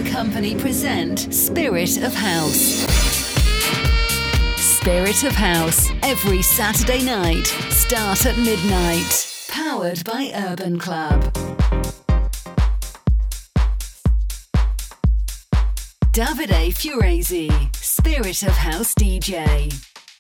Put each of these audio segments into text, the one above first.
Company present Spirit of House. Spirit of House, every Saturday night, start at midnight. Powered by Urban Club. Davide Furezi, Spirit of House DJ.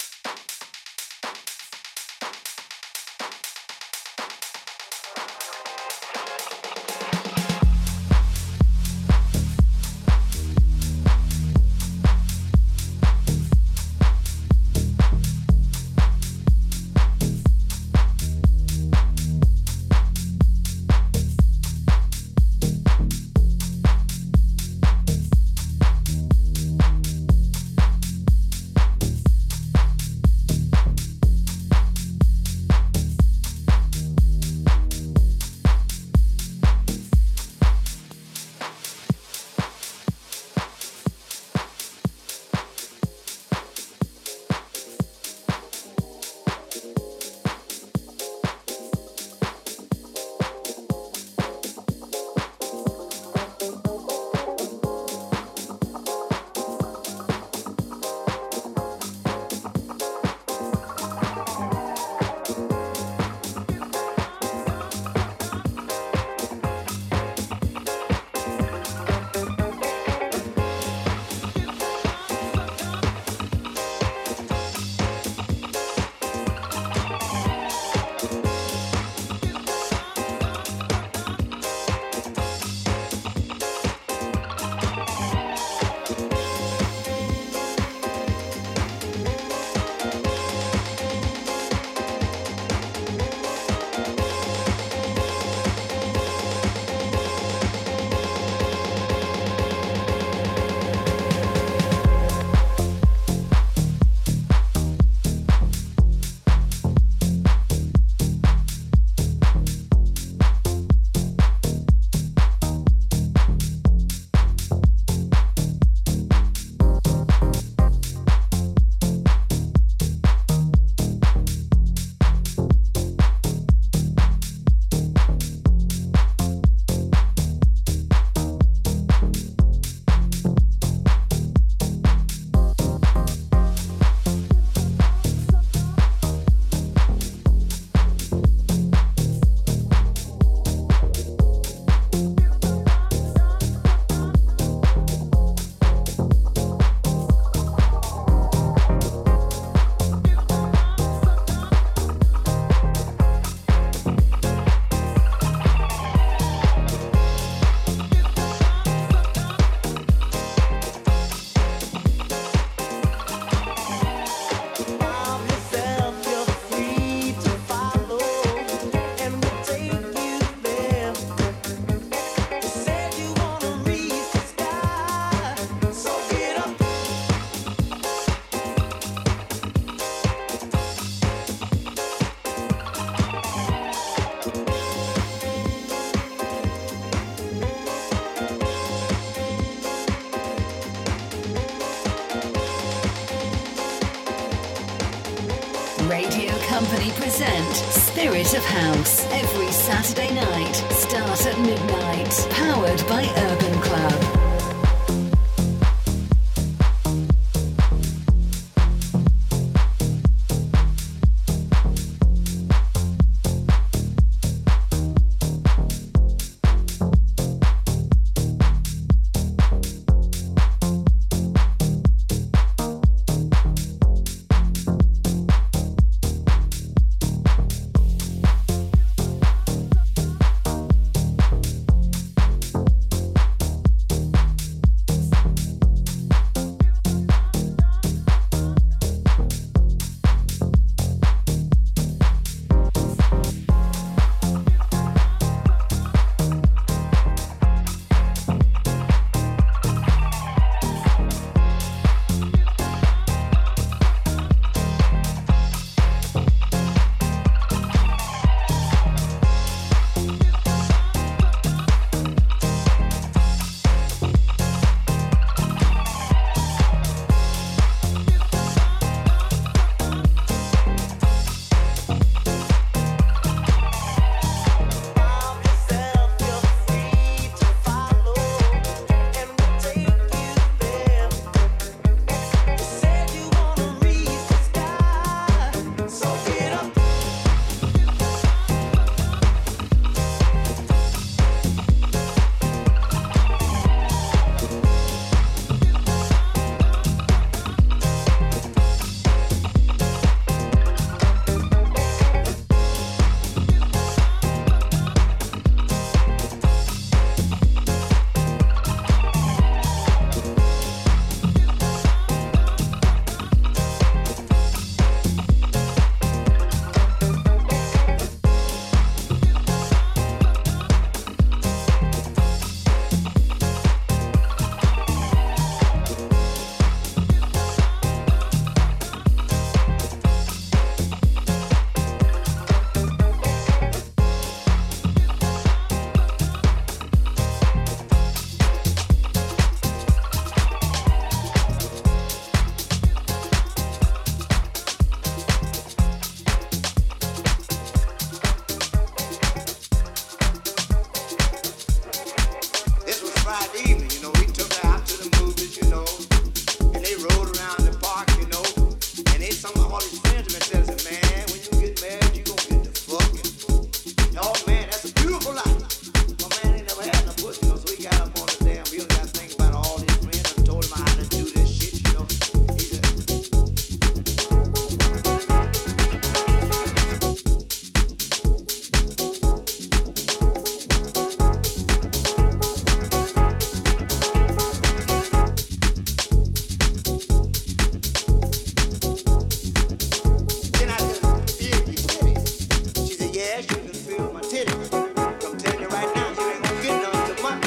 Company present Spirit of House every Saturday night, start at midnight, powered by Urban Club.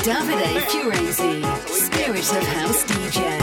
Davide Furezi, Spirit of House DJ.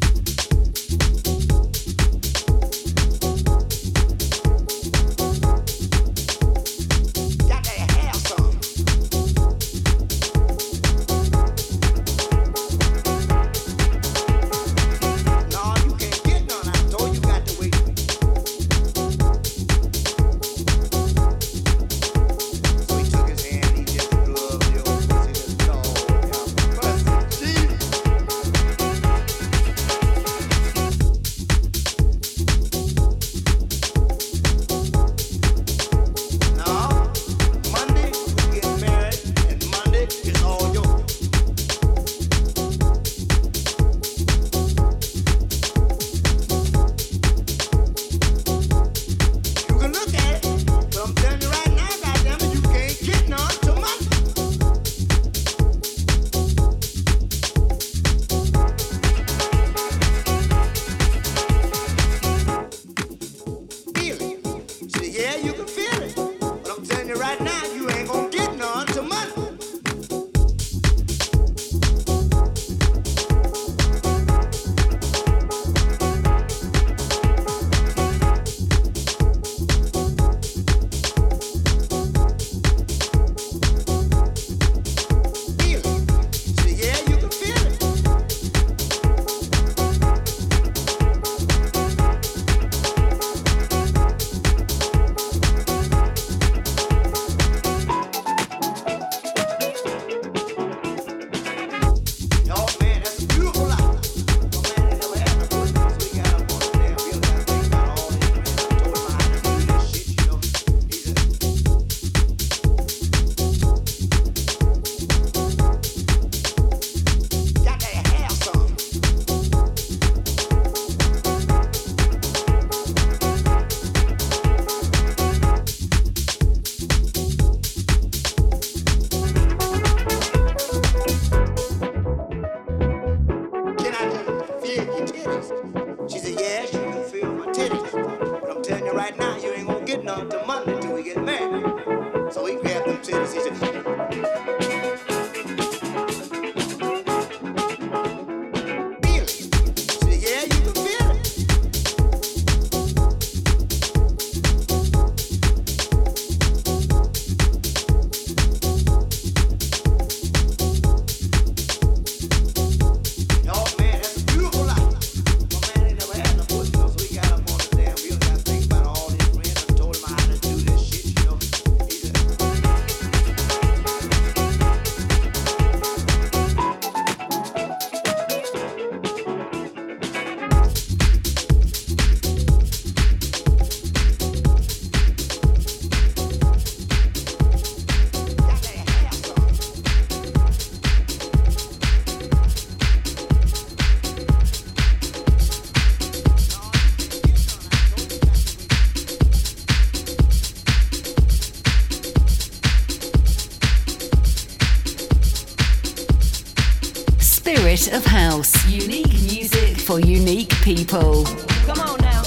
Spirit of House. Unique music for unique people. Come on now.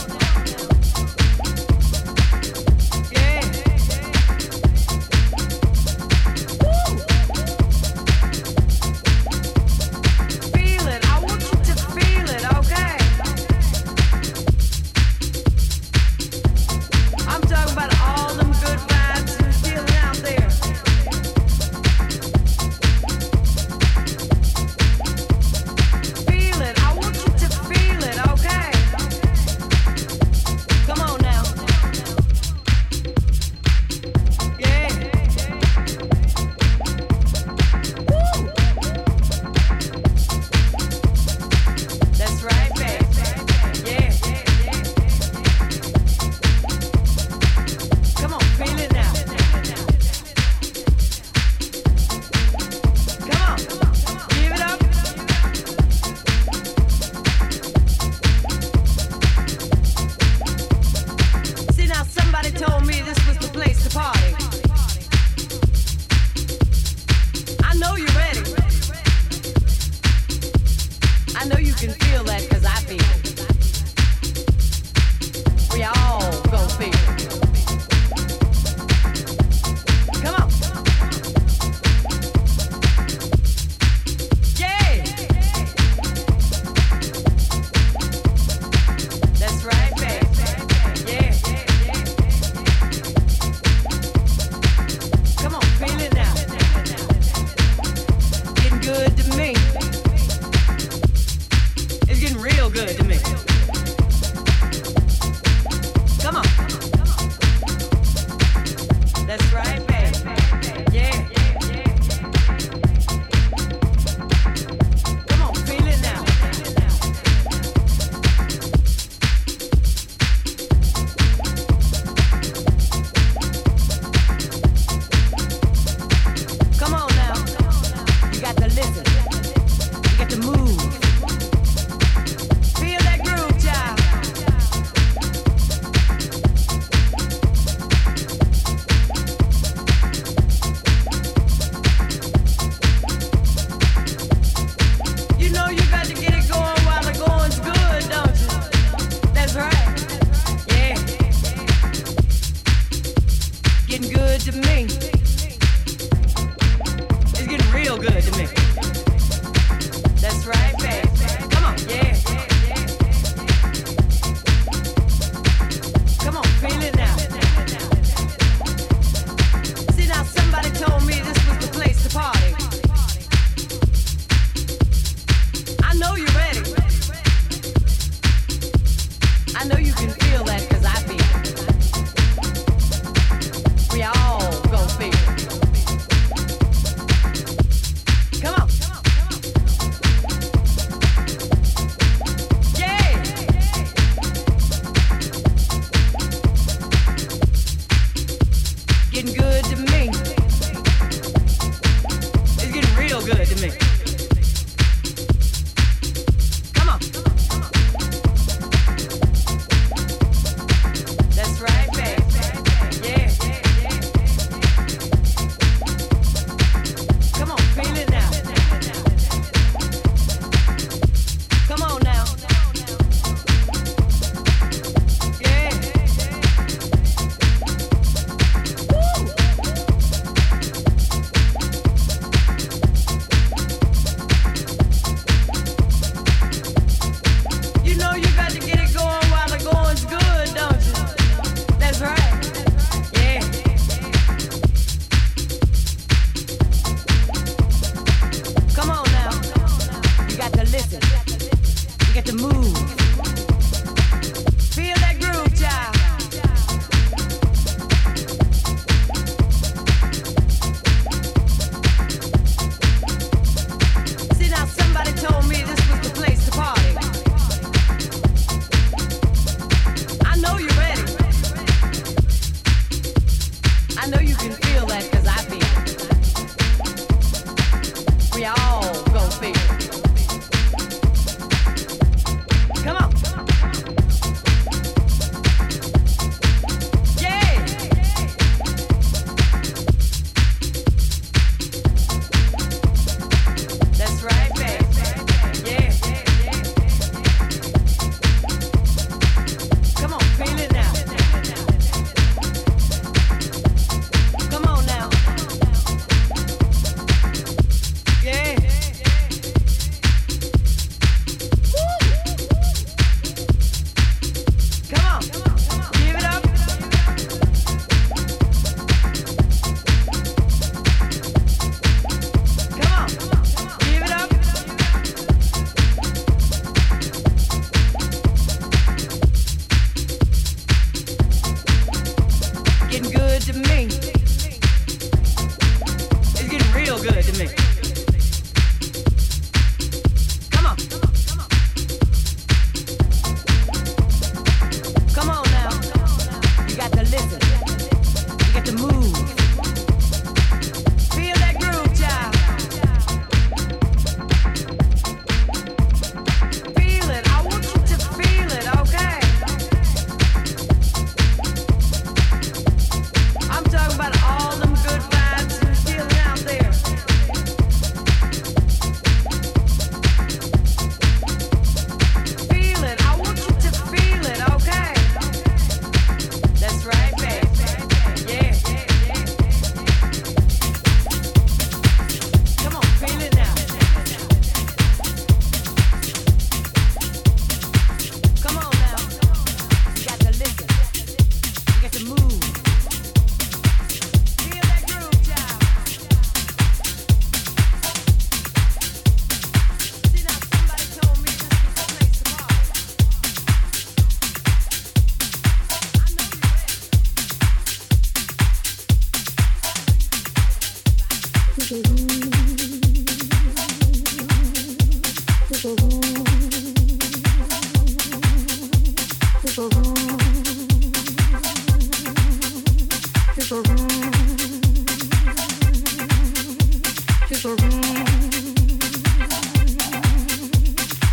Yeah. Woo. Feel it. I want you to feel it, okay? I'm talking about all them good vibes and feeling out there. Feel it. I want you to feel it, okay? Come on now. Yeah. Woo. That's right, baby. Yeah. Come on, feel it now. Come on, give it up. See, now somebody told me this was the place to party. I know you're ready. I know you can feel that because I feel it. We all gon' feel it. Come on. good to me. Come on. That's right, baby. Yeah. Come on, feel it now. Come on now. You got to listen. You got to move. Feel that groove, child. You know you got to get it going while the going's good, don't you? That's right. Yeah. Getting good to me. It's getting real good to me. That's right, baby. Come on, yeah. Come on, feel it now. See now, somebody told me this was the place to party. I know you're ready. I know you can feel that 'cause I feel it. We all gon' feel it. Come on. Yeah. Getting good to me. It's getting real good to me. Come on. That's right, baby. Yeah. Come on, feel it now. Come on now. Yeah. Woo.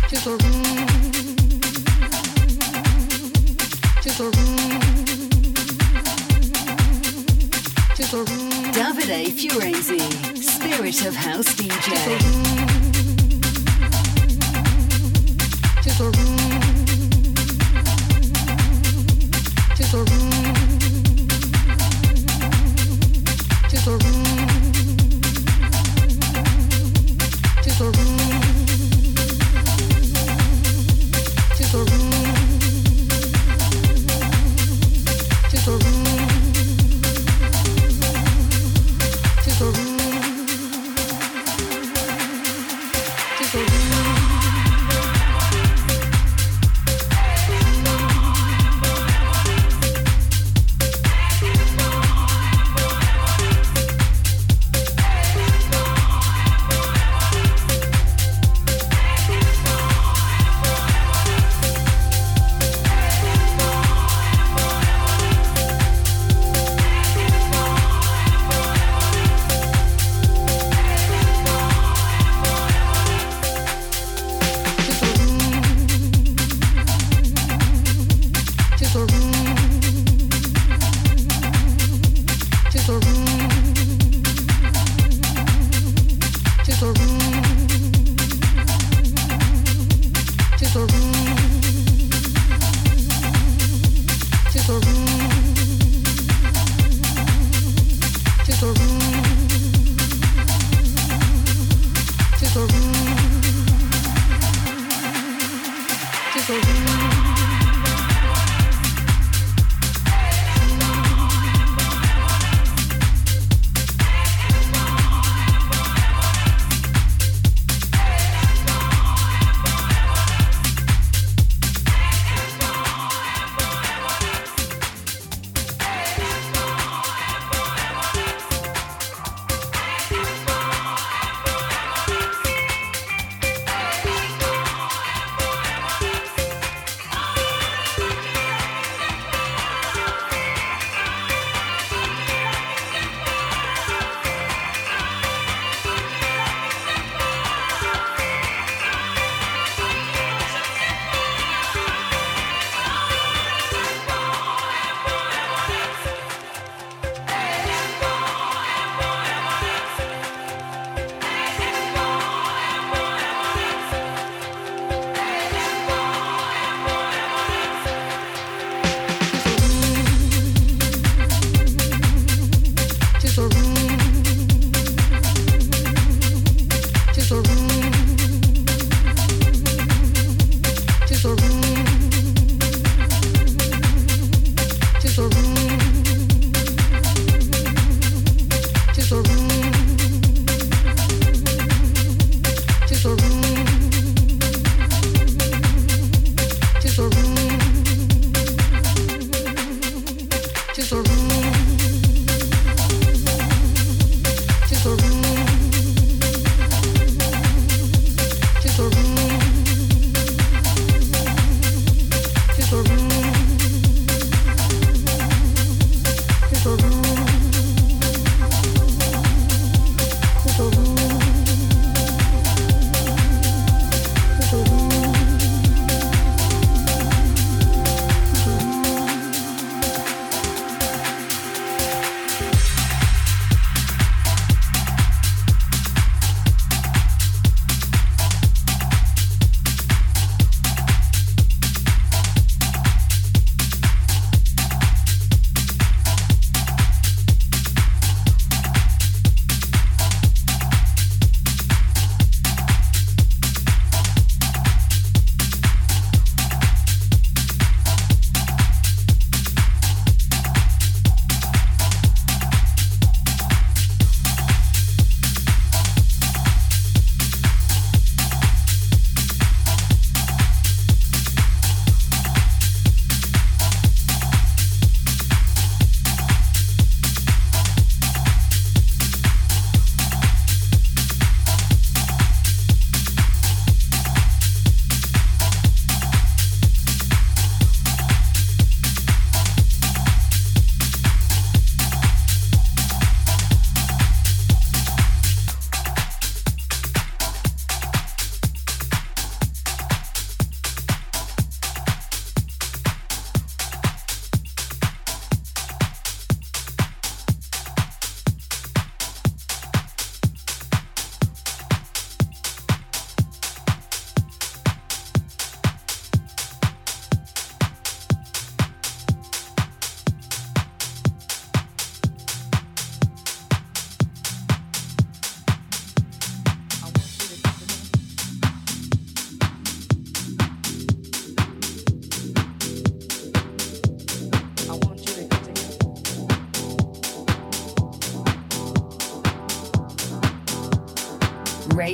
Davide Furezi, Spirit of House DJ.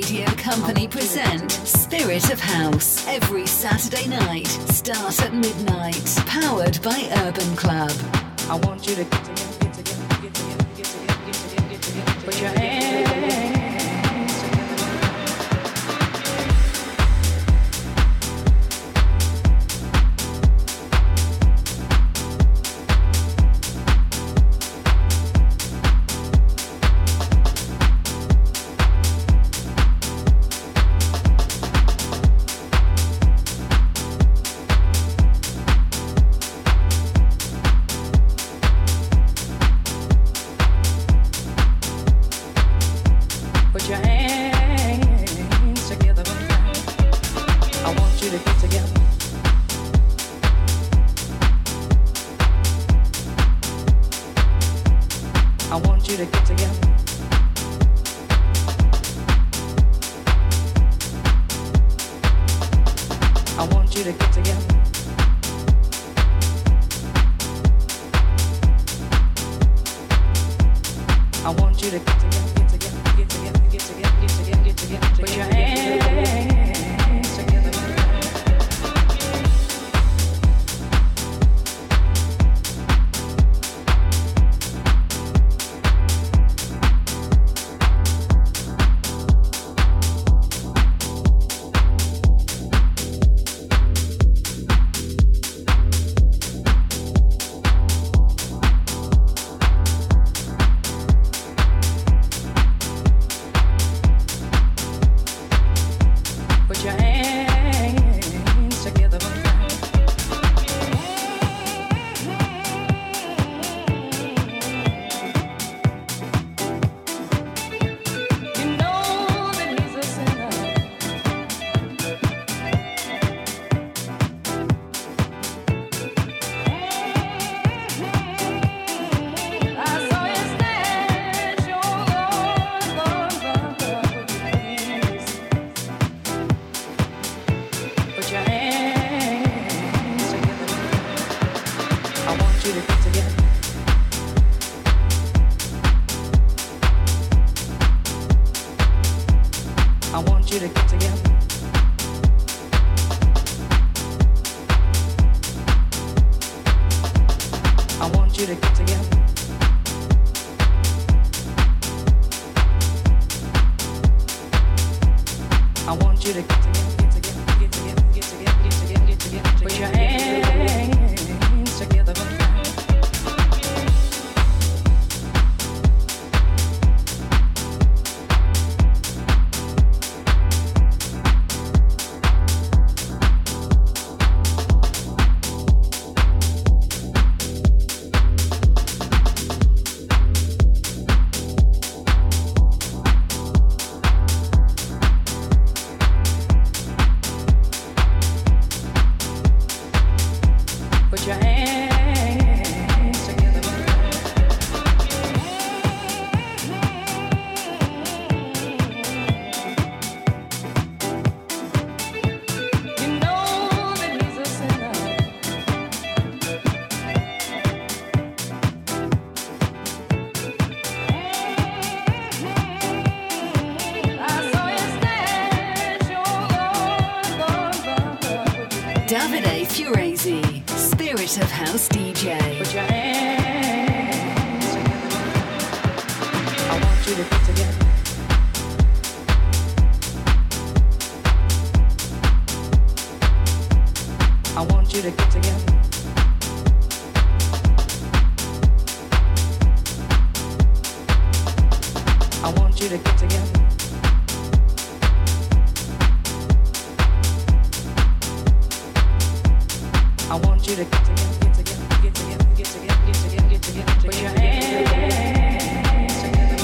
Radio Company present Spirit of House every Saturday night. Start at midnight. Powered by Urban Club. I want you to get together, put your hands Davide Furezi, Spirit of House DJ. Put your hands together. I want you to get together. I want you to get together. I want you to get together. I want you to get together, get together, get together, get together, get together, get together. Put your hands together.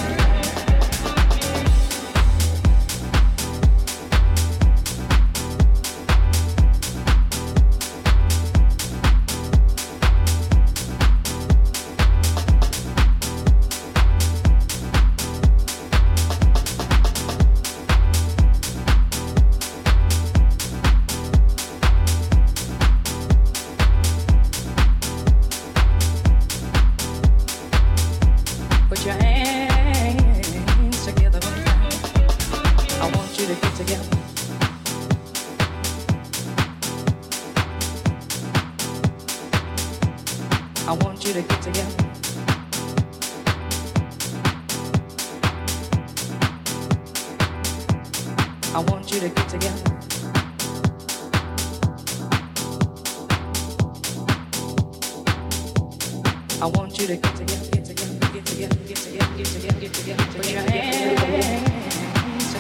you to get together. I want you to get together. I want you to get together. I want you to get together, get together, get together, get together, get together, get together. Put your hands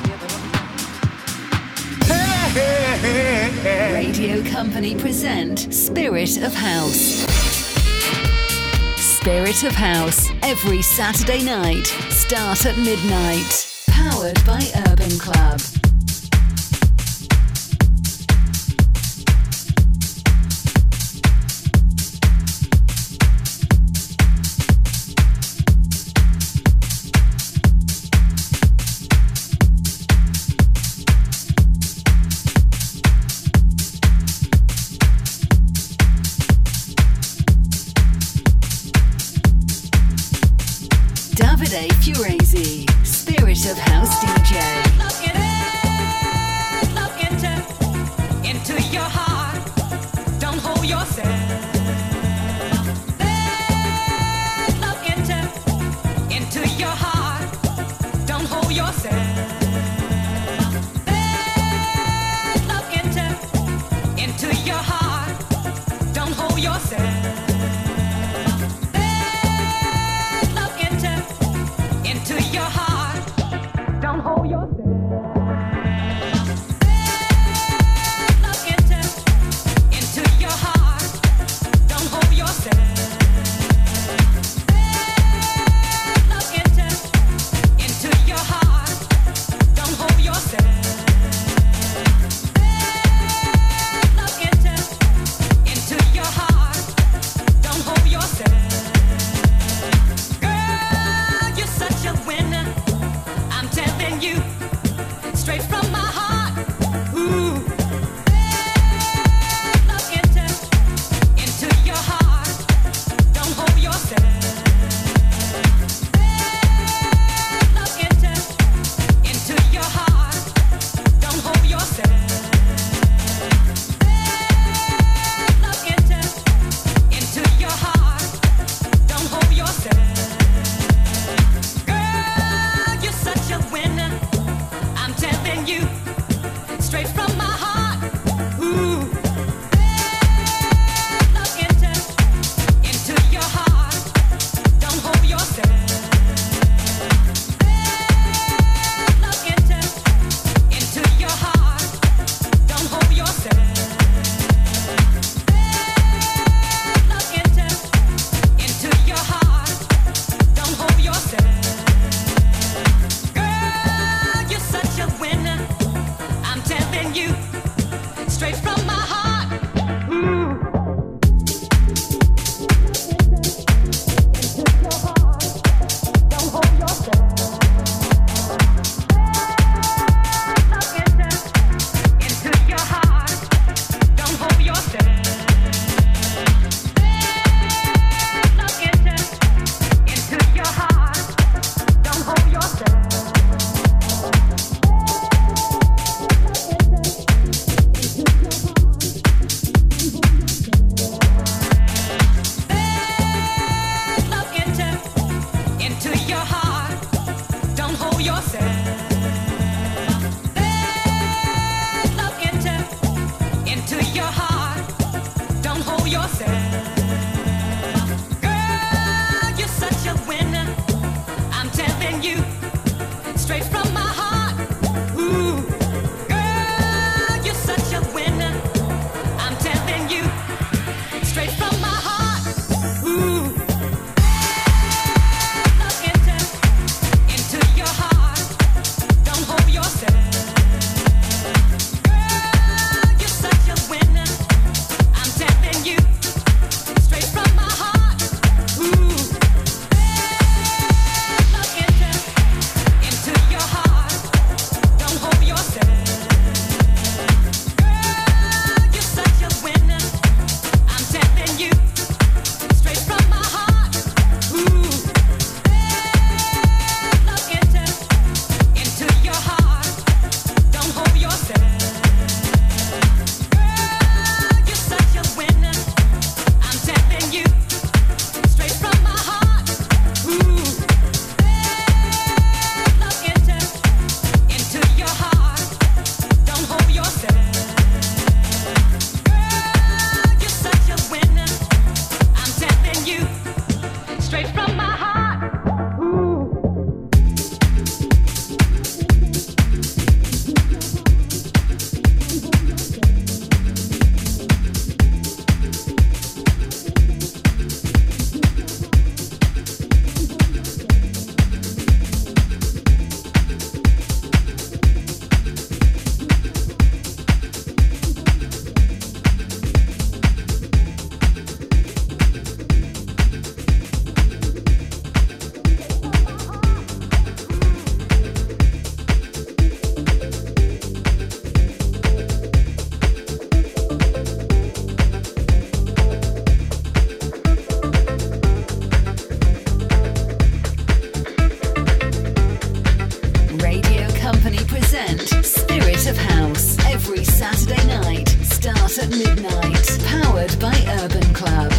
together. Radio Company present Spirit of House. Spirit of House, every Saturday night, start at midnight. Powered by Urban Club. Davide Furezi, Spirit of House DJ. Look into your heart. Don't hold yourself. Look into your heart. Don't hold yourself. Look into your heart. Don't hold yourself. Into your heart, don't hold yourself. Look into your heart, don't hold yourself. Look into your heart, don't hold yourself. Look into your heart, don't hold yourself. Such a winner, I'm telling you, straight from my heart. Ooh. Look into your heart. Don't hold yourself. Look into your heart. Don't hold yourself. Look into your heart. Don't hold yourself. Such a winner, I'm telling you, straight from my heart. Ooh. Look into your heart. Don't hold yourself. Look into your heart. Don't hold yourself. Look into your heart. Don't hold yourself. Such a winner, I'm telling you, straight from my heart. Ooh. Into your heart, don't hold yourself. Look into your heart, don't hold yourself. Look into your heart, don't hold yourself. at midnight. Powered by Urban Club.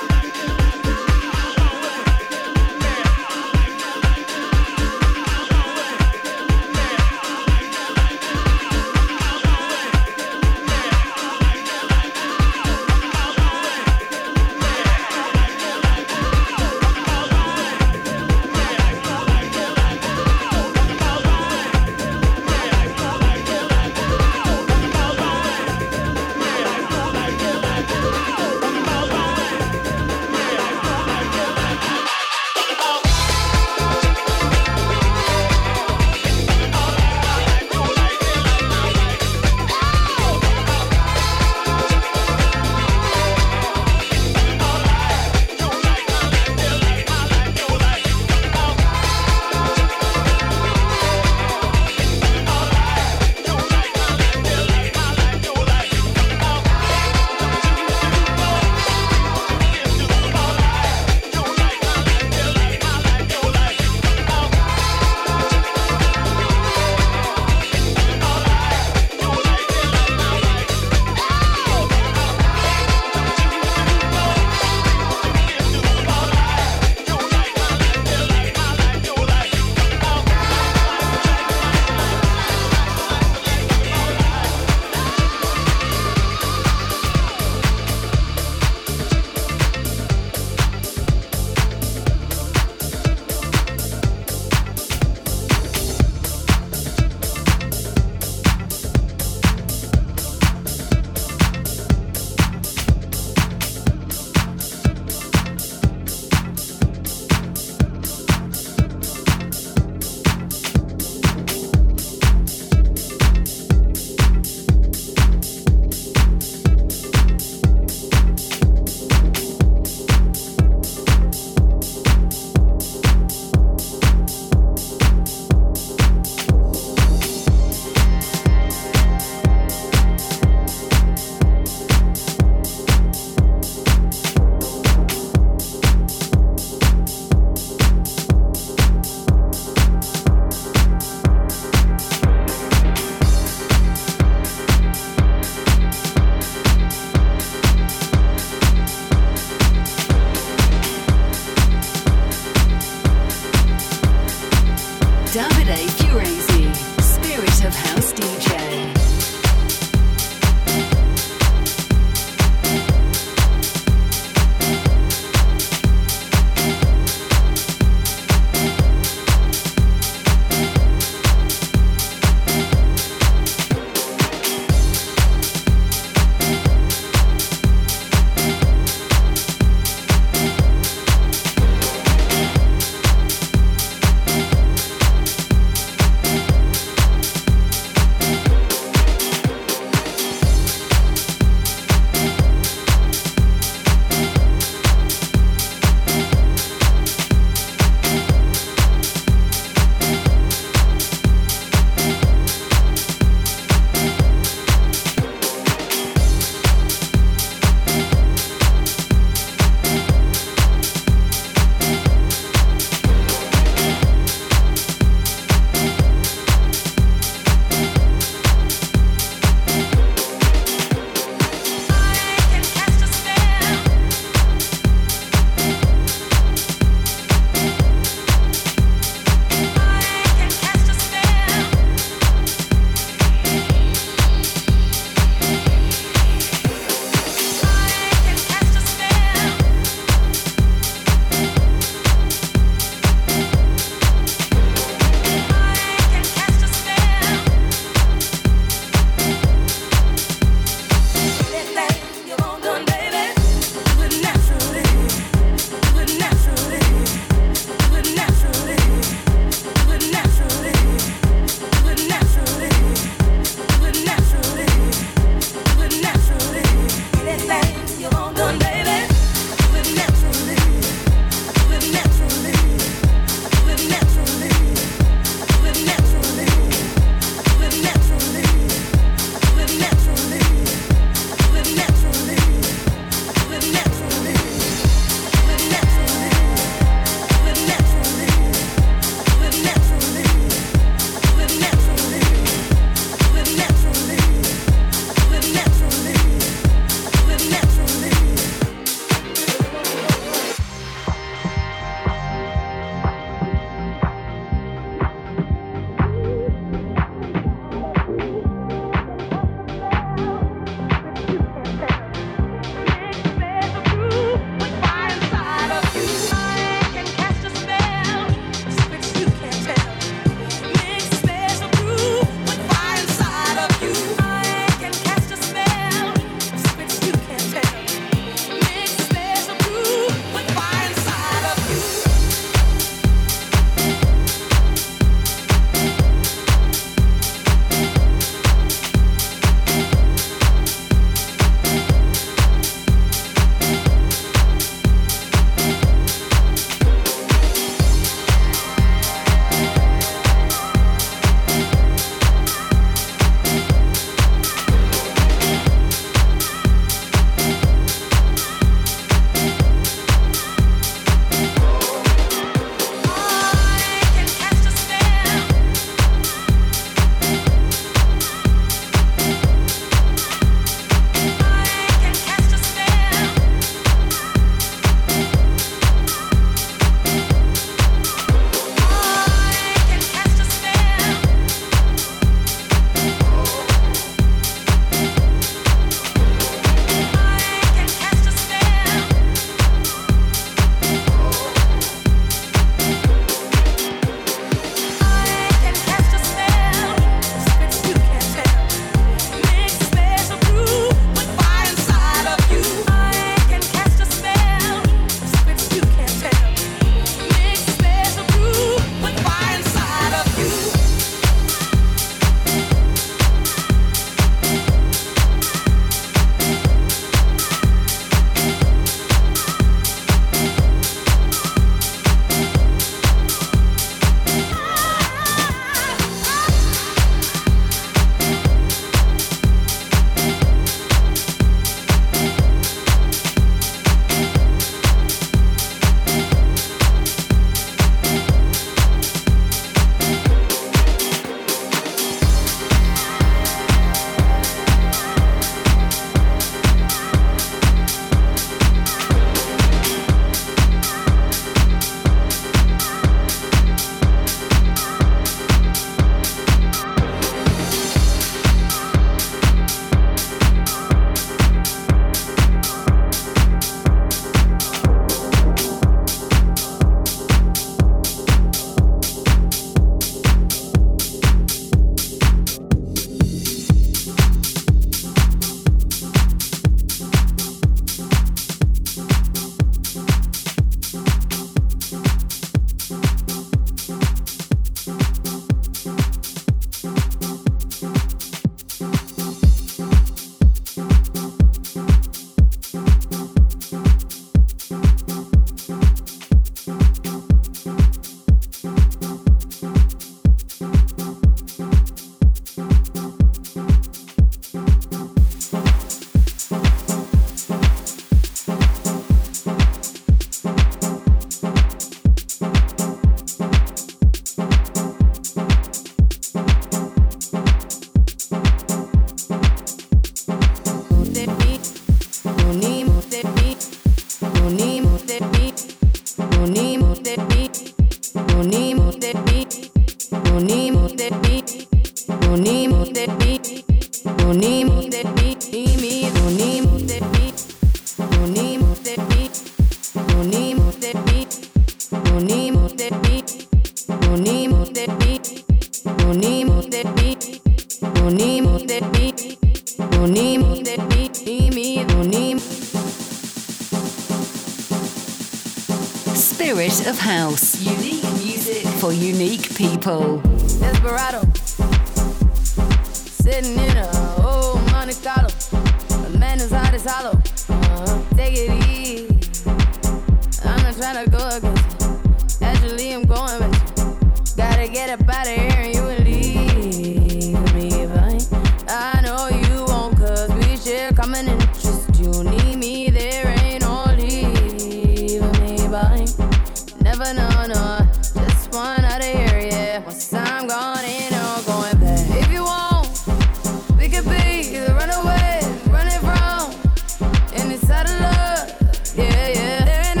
Spirit of House. Unique music for unique people. Desperado, sitting in a old Monte Carlo. A man is hot as hollow. Take it easy. I'm not trying to go against you. Actually, I'm going with you. Gotta get up out of here and you will leave me behind. I know you won't, cause we share common interest. You need me, there ain't no leaving me behind. Never know, no. Just one out of here, yeah. Once I'm gone, ain't no going back. If you want, we could be the runaway, running from inside of love. Yeah, yeah. There ain't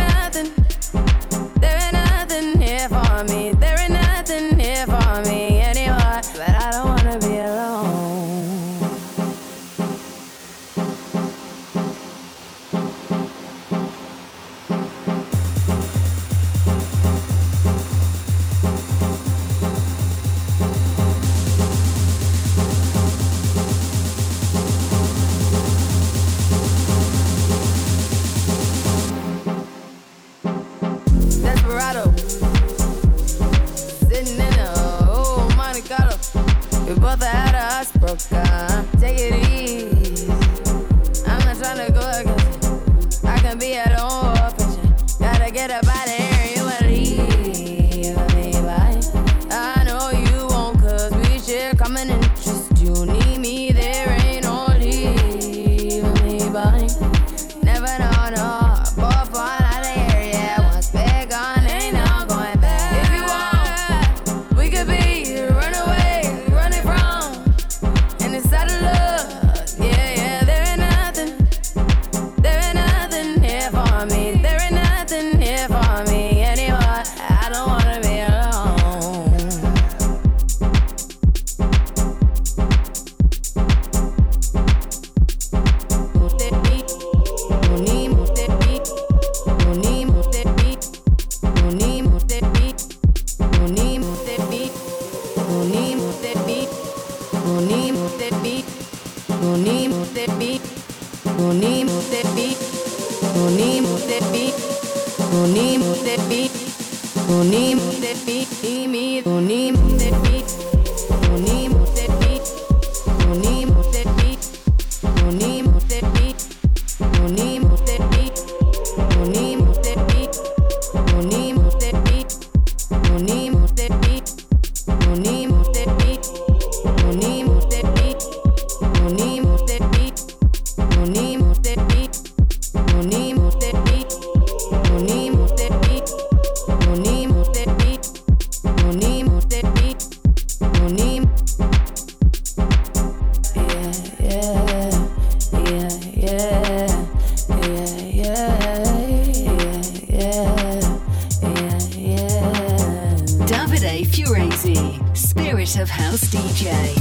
nothing here for me. There ain't nothing here for me anymore. But I don't wanna be alone. Desperado, sitting in a old Monte Carlo. We both had us broke up. Take it easy. I'm not trying to go against you. I can be at home fishing. Gotta get up out of here. You wanna leave me behind. I know you won't, cause we share common interest. You need me, there ain't no leaving me behind. Never know, no. Both one out of here, yeah. Once we're gone, ain't no going back. If you want, we could be the runaway, running from and inside of love. Yeah, yeah. There ain't nothing here for me. There ain't nothing here for me anymore. I don't wanna be alone. Move that beat, move that beat, move that beat, move that beat, move that beat, move that beat, move that beat, move that beat, move that beat, move that beat, move that beat, move that beat, me, move that beat, move that beat, move that beat, move that beat, move that beat, move that beat, move that beat, move that beat, move that beat, move that beat, move that beat, move that beat, move that beat, move that beat, move that beat, move that beat, Davide Furezi, Spirit of House DJ.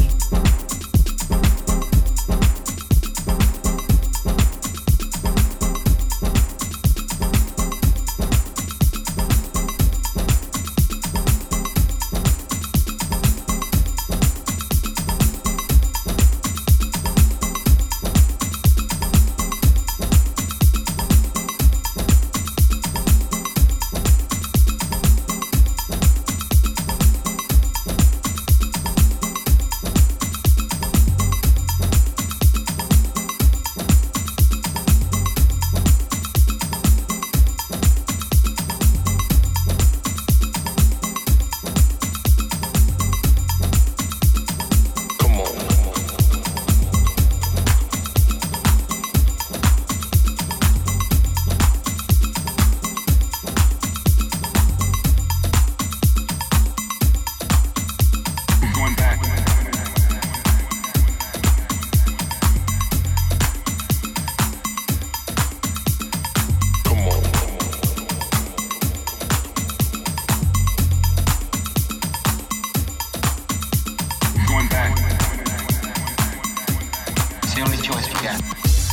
the only choice we got.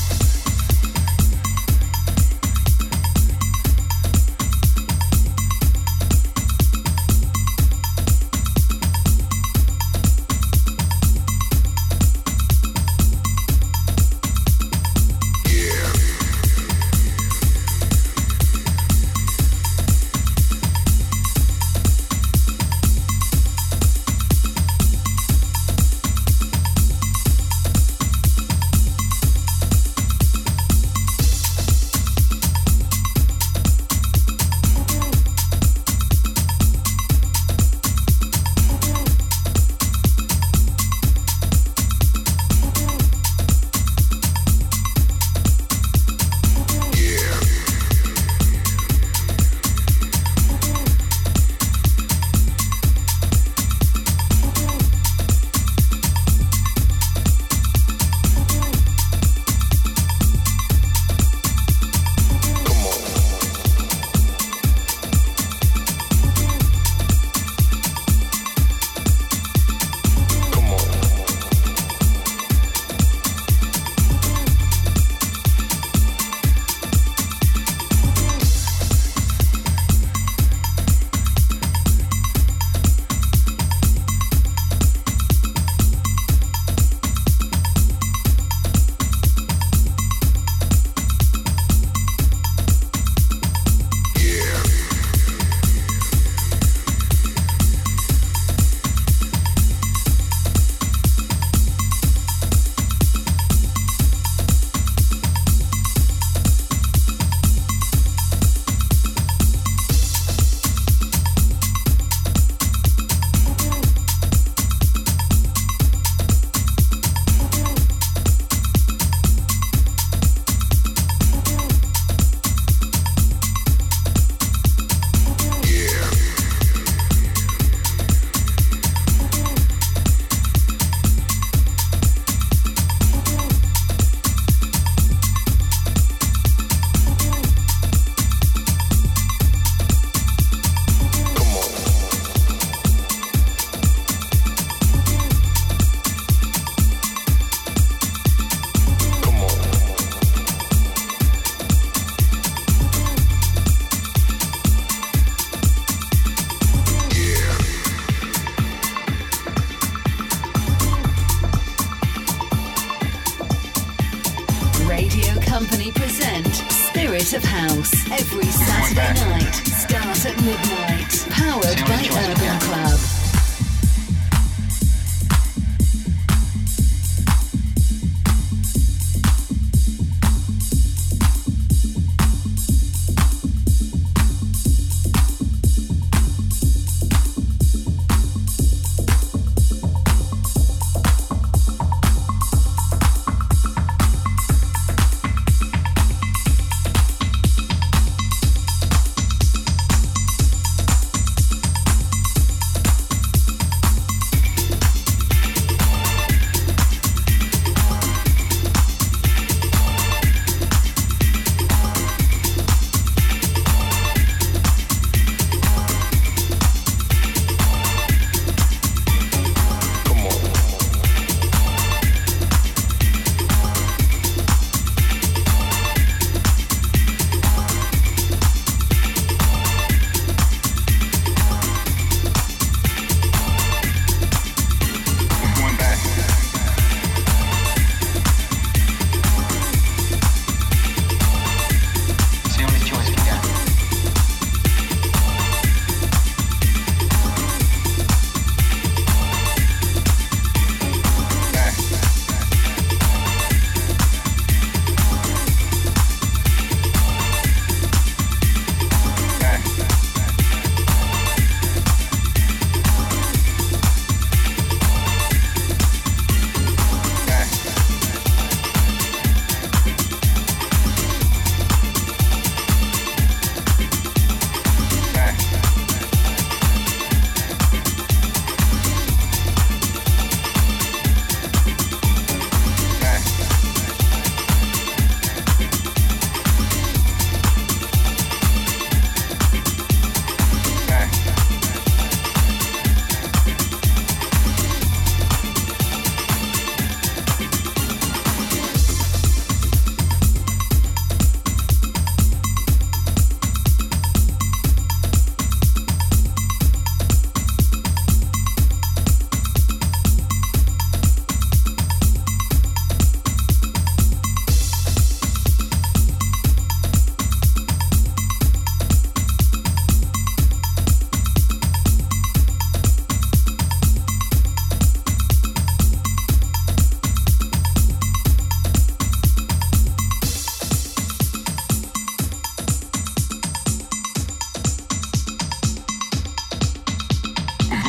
Company present Spirit of House every Saturday night. Start at midnight. Powered by Urban Club.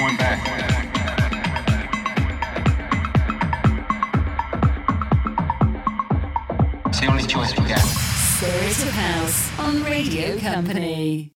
going back. It's the only choice we got. Spirit of House on Radio Company.